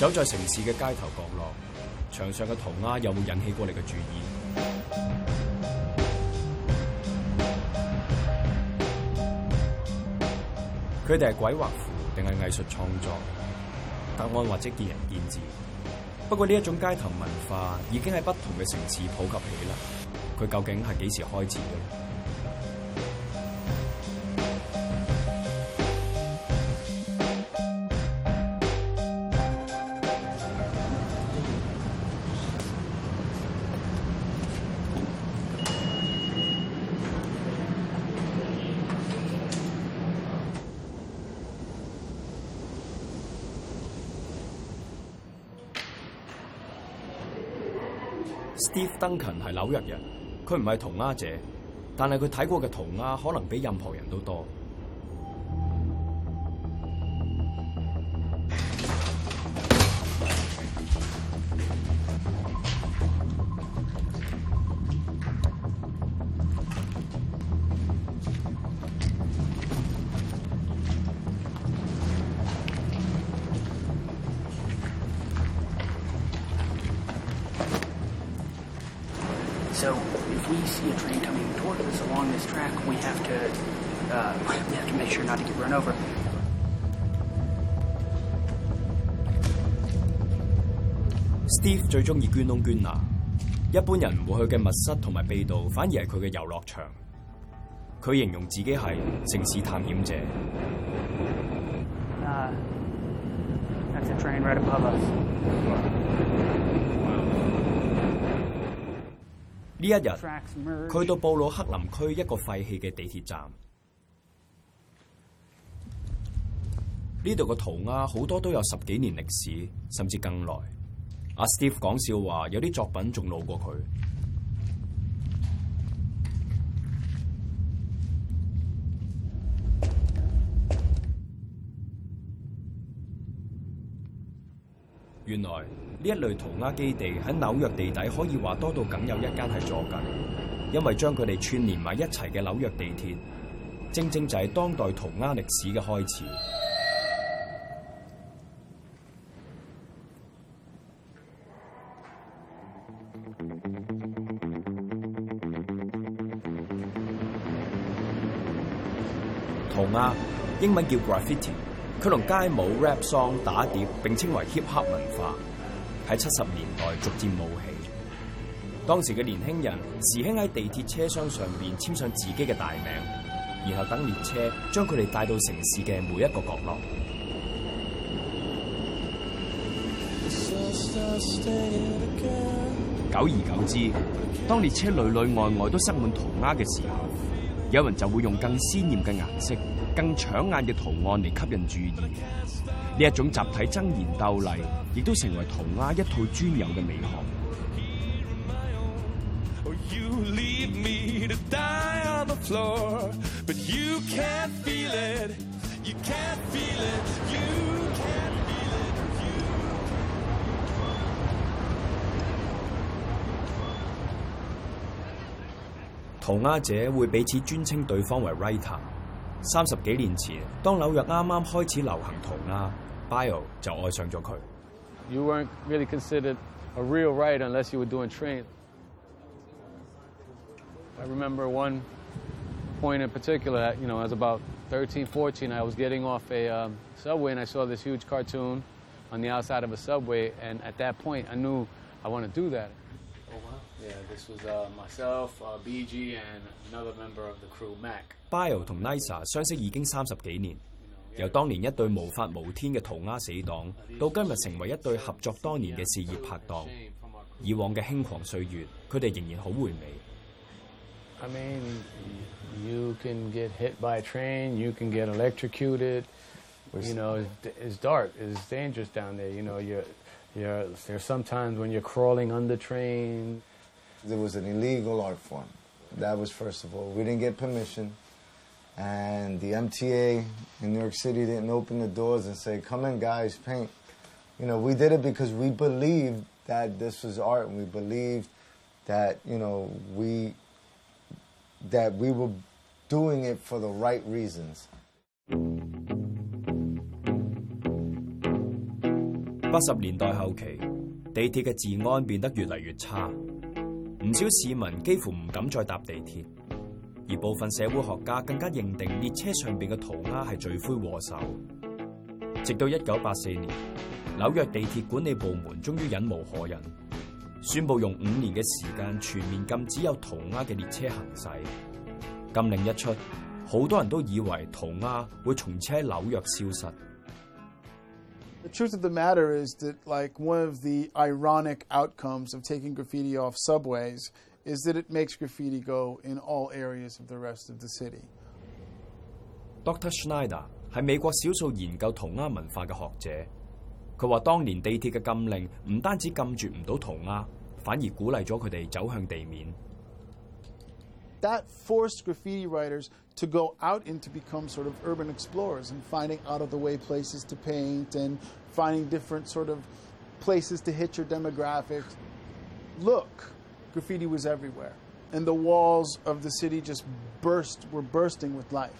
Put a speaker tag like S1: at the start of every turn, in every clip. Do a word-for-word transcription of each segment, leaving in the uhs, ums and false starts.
S1: 走在城市嘅街頭角落，牆上嘅塗鴉有冇引起過你嘅注意？佢哋係鬼畫符定係藝術創作？答案或者見仁見智。不過呢一種街頭文化已經喺不同嘅城市普及起啦。佢究竟係幾時開始嘅？ Steve Duncan 係紐約人，佢唔係塗鴉者，但係佢睇過嘅塗鴉可能比任何人都多。
S2: So if we see a train coming toward us along this track, we have to uh, we have to make sure not to get run over.
S1: Steve 最中意捐窿捐罅，一般人唔會去嘅密室同埋秘道，反而係佢嘅遊樂場。佢形容自己係城市探險者。
S2: Uh, that's a train right above us.
S1: 呢一日，佢到布魯克林區一個廢棄嘅地鐵站。呢度嘅塗鴉好多都有十幾年歷史，甚至更耐。阿 Steve 講笑話，有啲作品仲老過佢。原來呢一類塗鴉基地喺紐約地底可以話多到梗有一間係坐緊，因為將佢哋串連埋一齊嘅紐約地鐵，正正就係當代塗鴉歷史嘅開始。塗鴉英文叫 graffiti。佢同街舞、rap song、打碟並稱為 hip hop 文化，喺七十年代逐漸冒起。當時嘅年輕人時興喺地鐵車廂上面簽上自己嘅大名，然後等列車將佢哋帶到城市嘅每一個角落。久而久之，當列車裏裏外外都塞滿塗鴉嘅時候，有人就會用更鮮豔嘅顏色、更搶眼嘅圖案嚟吸引注意。呢一種集體爭妍鬥麗，亦都成為塗鴉一套專有嘅美學。塗鴉者會彼此尊稱對方為 writer。三十幾年前，當紐約啱啱開始流行塗鴉 ，Bio 就愛上咗佢。
S3: You weren't really considered a real writer unless you were doing train. I remember one point in particular, you know, I was about thirteen, fourteen, I was getting off a um, subway and I saw this huge cartoon on the outside of a subway, and at that point I knew I want to do that. Oh wow. Yeah, this was uh, myself, uh, B G, and another member of the crew, Mac.Bio
S1: 同 Nisa 相識已經三十幾年，由當年一對無法無天嘅塗鴉死黨，到今日成為一對合作多年嘅事業拍檔。以往嘅輕狂歲月，佢哋仍然好回味。
S3: I mean, you can get hit by a train, you can get electrocuted. You know, it's, it's dark, it's dangerous down there. You know, you're, you're, there's sometimes when you're crawling under trains.
S4: It was an illegal art form. That was first of all. We didn't get permission. And the M T A in New York City didn't open the doors and say, come in guys, paint. You know, we did it because we believed that this was art, and we believed that, you know, we, that we were doing it for the right reasons.
S1: 八十年代後期，地鐵嘅治安變得越嚟越差，唔少市民幾乎唔敢再搭地鐵，而部分社會學家更加認定列車上邊嘅塗鴉係罪魁禍首。直到一九八四年，紐約地鐵管理部門終於忍無可忍，宣布用五年嘅時間全面禁止有塗鴉嘅列車行駛。禁令一出，好多人都以為塗鴉會從此喺紐約消失。
S5: The truth of the matter is that, like, one of the ironic outcomes of taking graffiti off subways is that it makes graffiti go in all areas of the rest of the city.
S1: Doctor Schneider 係美國少數研究塗鴉文化嘅學者，佢話當年地鐵嘅禁令唔單止禁絕唔到塗鴉，反而鼓勵咗佢哋走向地面。
S5: That forced graffiti writers to go out and to become sort of urban explorers and finding out-of-the-way places to paint and finding different sort of places to hit your demographics. Look, graffiti was everywhere, and the walls of the city just burst, were bursting with life.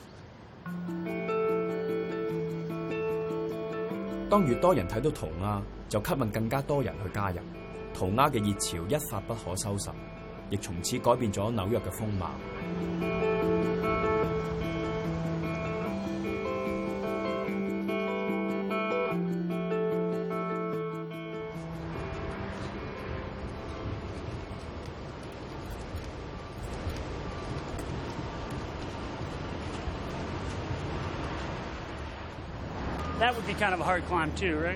S1: 當越多人睇到塗鴉，就吸引更加多人去加入，塗鴉嘅熱潮一發不可收拾。亦從此改變咗紐約嘅風貌。
S2: That would be kind of a hard climb too, right?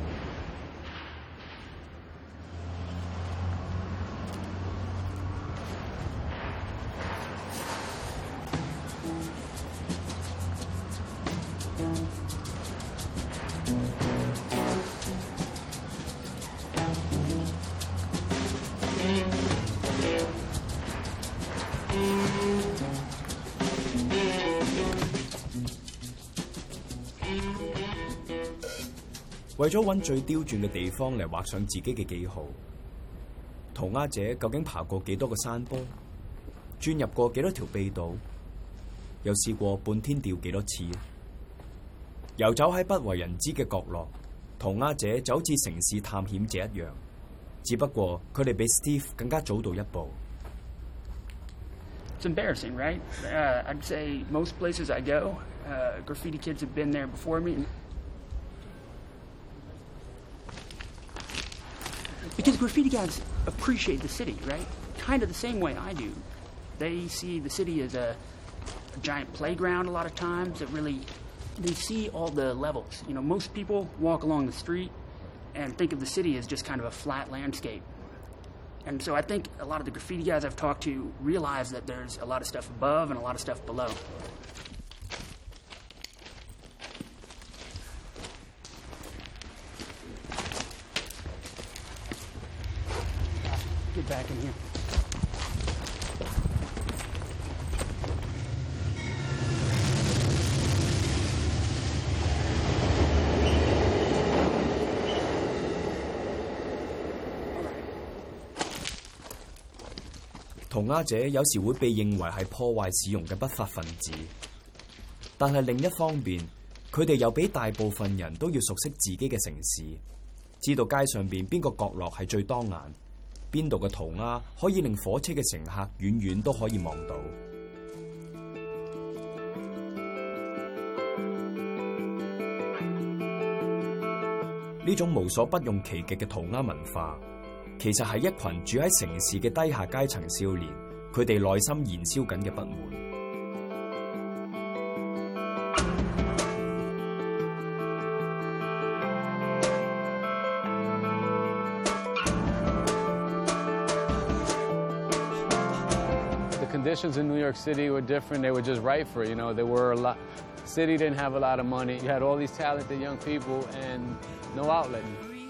S1: 為咗揾最刁鑽嘅地方嚟畫上自己嘅記號，塗鴉者究竟爬過幾多個山坡，鑽入過幾多條秘道，又試過半天吊幾多次？遊走喺不為人知嘅角落，塗鴉者就好似城市探險者一樣，只不過佢哋比 Steve 更加早到一步。
S2: It's embarrassing, right? Uh, I'd say most places I go, uh, graffiti kids have been there before me. Because graffiti guys appreciate the city, right? Kind of the same way I do. They see the city as a, a giant playground a lot of times. That really, they see all the levels. You know, most people walk along the street and think of the city as just kind of a flat landscape. And so I think a lot of the graffiti guys I've talked to realize that there's a lot of stuff above and a lot of stuff below. Get back in here.
S1: 塗鴉者有時會被認為係破壞市容嘅不法分子，但係另一方面，佢哋又比大部分人都要熟悉自己嘅城市，知道街上邊邊個角落係最當眼。邊度嘅塗鴉可以令火車嘅乘客遠遠都可以望到。呢種無所不用其極嘅塗鴉文化，其實係一群住喺城市嘅低下階層少年，佢哋內心燃燒緊嘅不滿。
S3: Conditions in New York City were different. They were just right for it. You know, there were a lot. The city didn't have a lot of money. You had all these talented young people and no outlet.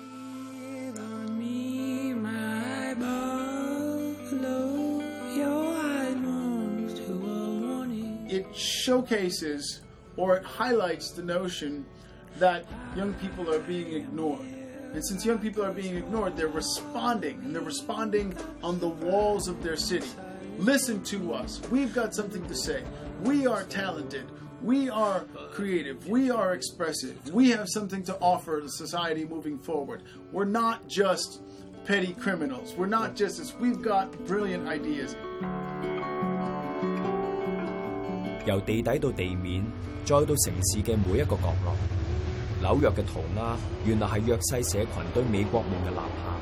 S5: It showcases or it highlights the notion that young people are being ignored. And since young people are being ignored, they're responding, and they're responding on the walls of their city. Listen to us. We've got something to say. We are talented. We are creative. We are expressive. We have something to offer to society moving forward. We're not just petty criminals. We're not just this. We've got brilliant ideas.
S1: 由地底到地面，再到城市嘅每一個角落，紐約嘅塗鴉原來係弱勢社群對美國夢嘅吶喊。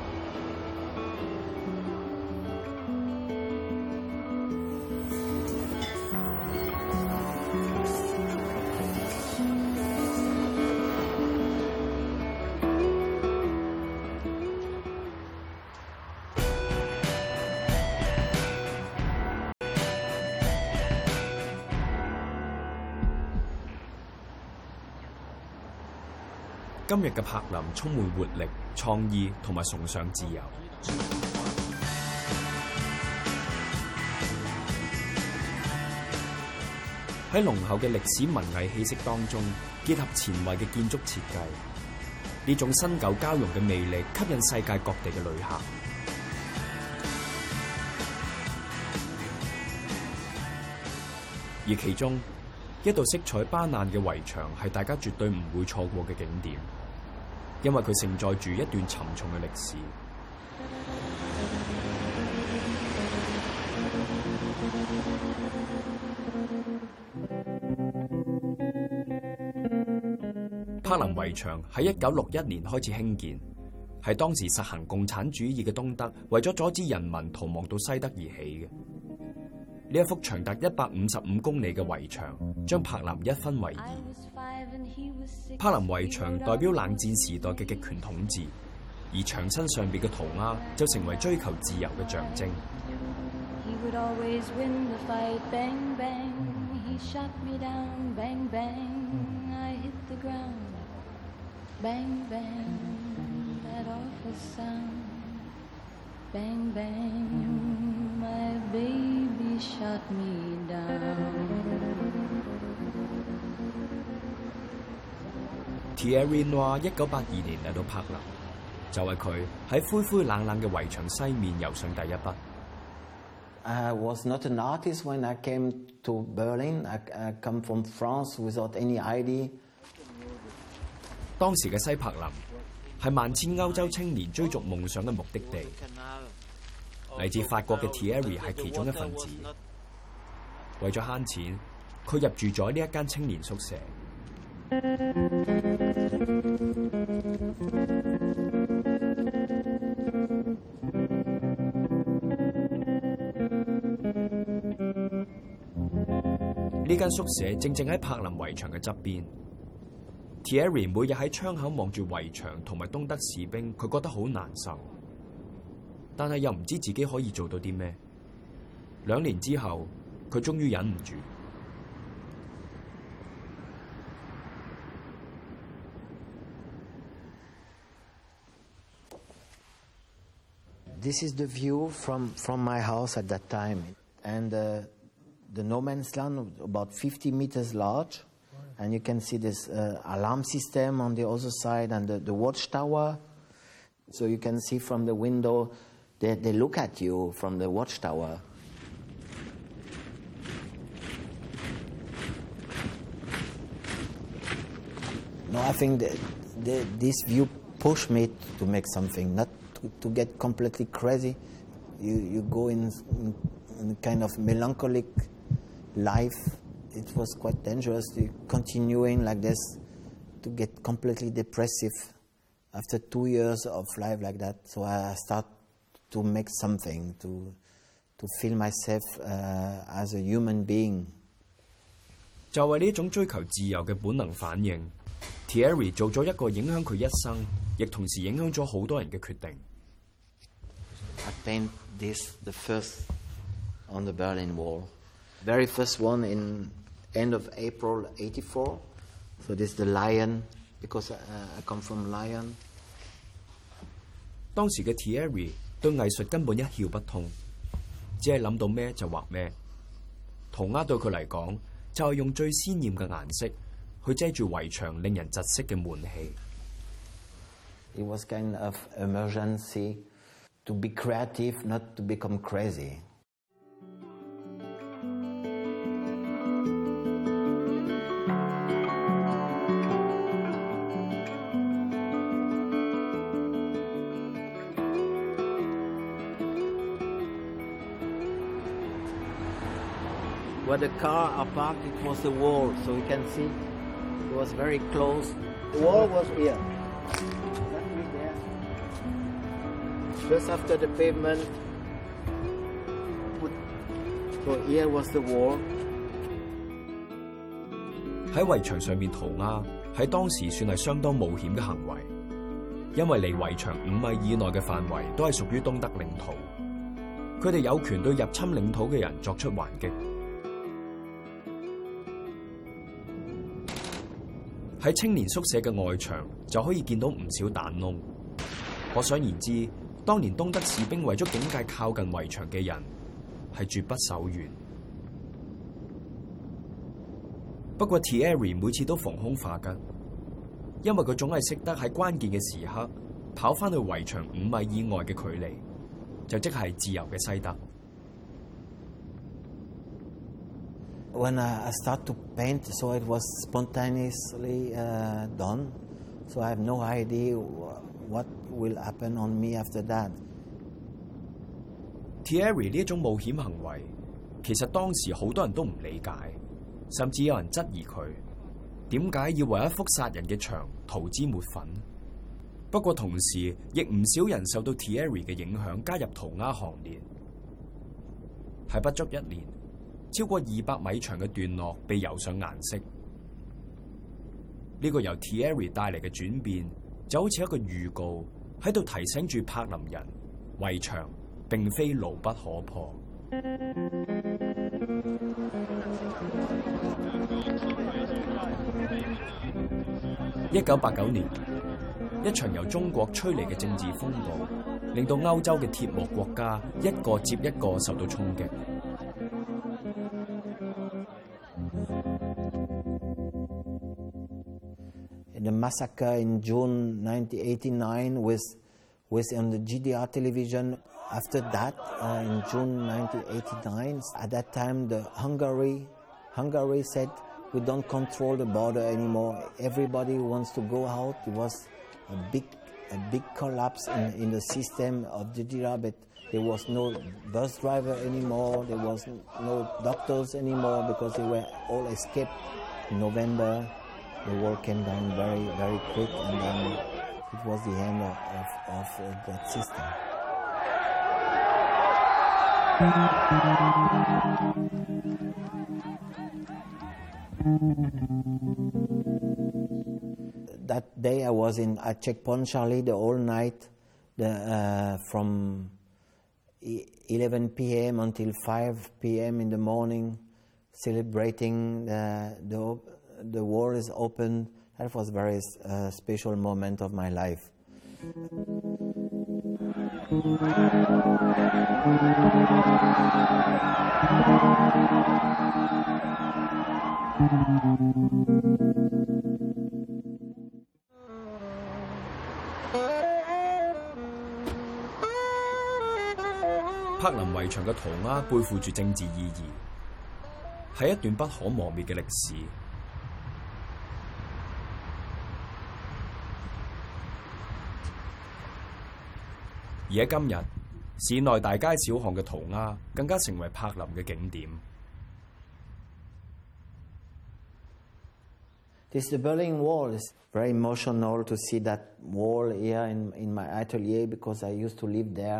S1: 今日嘅柏林充滿活力、創意同埋崇尚自由。喺濃厚嘅歷史文藝氣息當中，結合前衛嘅建築設計，呢種新舊交融嘅魅力吸引世界各地嘅旅客。而其中一道色彩斑斕嘅圍牆係大家絕對唔會錯過嘅景點，因為佢承載住一段沉重嘅歷史。柏林圍牆喺一九六一年開始興建，係當時實行共產主義嘅東德為咗阻止人民逃亡到西德而起嘅。呢一幅長達一百五十五公里嘅圍牆，將柏林一分為二。柏林圍牆代表冷戰時代嘅極權統治，而牆身上邊嘅塗鴉就成為追求自由嘅象徵。
S6: Shut me down.
S1: Thierry Noir 一九八二年嚟到柏林，就係佢喺灰灰冷冷嘅圍牆西面游上第一筆。
S6: I was not an artist when I came to Berlin. I, I come from France without any I D.
S1: 當時嘅西柏林係萬千歐洲青年追逐夢想嘅目的地。嚟自法國嘅 Thierry 係其中一份子。為咗慳錢，佢入住咗呢一間青年宿舍。呢間宿舍正正喺柏林圍牆嘅側邊。Thierry 每日喺窗口望住圍牆同埋東德士兵，佢覺得好難受。但係又唔知自己可以做到啲咩。兩年之後，佢終於忍唔住。
S6: This is the view from, from my house at that time. And uh, the no man's land about fifty meters large. And you can see this uh, alarm system on the other side and the, the watchtower. So you can see from the window They, they look at you from the watchtower. No, I think that the, this view pushed me to make something, not to, to get completely crazy. You, you go in, in, in a kind of melancholic life. It was quite dangerous to continuing like this, to get completely depressive after two years of life like that. So I start to make something, to, to feel myself uh, as a human being.
S1: 就係呢種追求自由嘅本能反應 ，Thierry 做咗一個影響佢一生，亦同時影響咗好多人嘅決定。
S6: I paint this the first on the Berlin Wall, very first one in end of April eighty-four. So this is the lion, because I, I come from Lyon.
S1: 當時嘅 Thierry 對藝術根本一竅不通，只係諗到咩就畫咩。塗鴉對佢嚟講，就係用最鮮豔嘅顏色去遮住圍牆令人窒息嘅悶氣。
S6: It was kind of emergency to be creative, not to become crazy. 。 where the car are parked, it was the wall, so you can see it was very close. The wall was here, exactly there, just after the pavement. So here was the wall.
S1: 喺圍牆上面塗鴉，喺當時算係相當冒險嘅行為，因為離圍牆五米以內嘅範圍都係屬於東德領土，佢哋有權對入侵領土嘅人作出還擊。喺青年宿舍嘅外牆就可以見到唔少彈窿，可想而知，當年東德士兵為咗警戒靠近圍牆嘅人，係絕不手軟。不過 Thierry 每次都逢凶化吉，因為佢總係識得喺關鍵嘅時刻跑翻去圍牆五米以外嘅距離，就即係自由嘅西德。
S6: When I start to paint, so it was spontaneously uh, done. So I have no idea what will happen on me after that.
S1: Thierry 呢一種冒險行為，其實當時好多人都唔理解，甚至有人質疑佢點解要為一幅殺人嘅牆塗脂抹粉。不過同時，亦唔少人受到 Thierry 嘅影響，加入塗鴉行列。喺不足一年，超過二百米長嘅段落被油上顏色。呢個由 Thierry 帶嚟嘅轉變，就好似一個預告，喺度提醒住柏林人，圍牆並非牢不可破。一九八九年，一場由中國吹嚟嘅政治風暴，令到歐洲嘅鐵幕國家一個接一個受到衝擊。
S6: The massacre in June nineteen eighty-nine with, with on the G D R television. After that, uh, in June nineteen eighty-nine, at that time, the Hungary, Hungary said, we don't control the border anymore. Everybody wants to go out. It was a big, a big collapse in, in the system of the G D R, but there was no bus driver anymore. There was no doctors anymore because they were all escaped. In November, the wall came down very, very quick, and then it was the end of, of, of uh, that system. That day I was in at Checkpoint Charlie the whole night, the, uh, from eleven p m until five p m in the morning, celebrating the, the, the wall is open. That was a very uh, special moment of my life.
S1: 柏林圍牆嘅塗鴉背負住政治意義，係一段不可磨滅嘅歷史。而喺今日，市內大街小巷嘅塗鴉更加成為柏林嘅景點。
S6: This the Berlin Wall is very emotional to see that wall here in, in my atelier because I used to live there.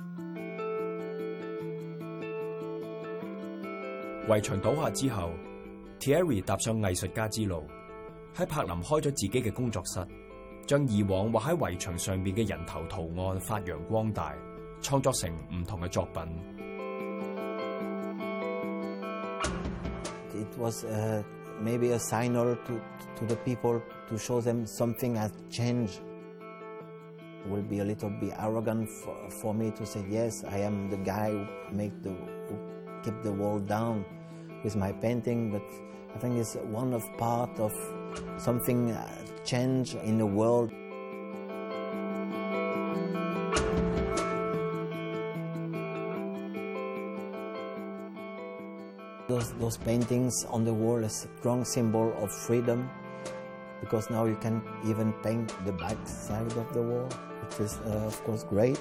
S1: 圍牆倒下之後 ，Thierry 踏上藝術家之路，喺柏林開咗自己嘅工作室，將以往畫喺圍牆上面嘅人頭圖案發揚光大，創作成唔同嘅作品。
S6: It was uh, maybe a signal to, to the people to show them something has changed. It will be a little bit arrogant for, for me to say, yes, I am the guy who make the who keep the wall down with my painting, but I think it's one of part of something uh, change in the world. Those, those paintings on the wall is a strong symbol of freedom, because now you can even paint the back side of the wall, which is uh, of course great.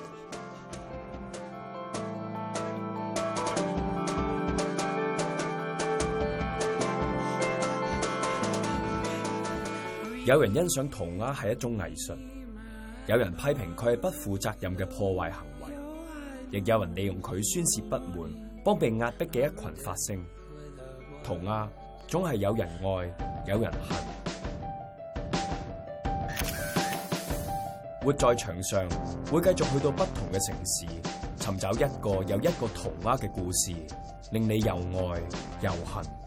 S1: 有人欣賞塗鴉係一種藝術，有人批評佢係不負責任嘅破壞行為，亦有人利用佢宣泄不滿，幫被壓迫嘅一群發聲。塗鴉總係有人愛，有人恨。活在場上會繼續去到不同嘅城市，尋找一個又一個塗鴉嘅故事，令你又愛又恨。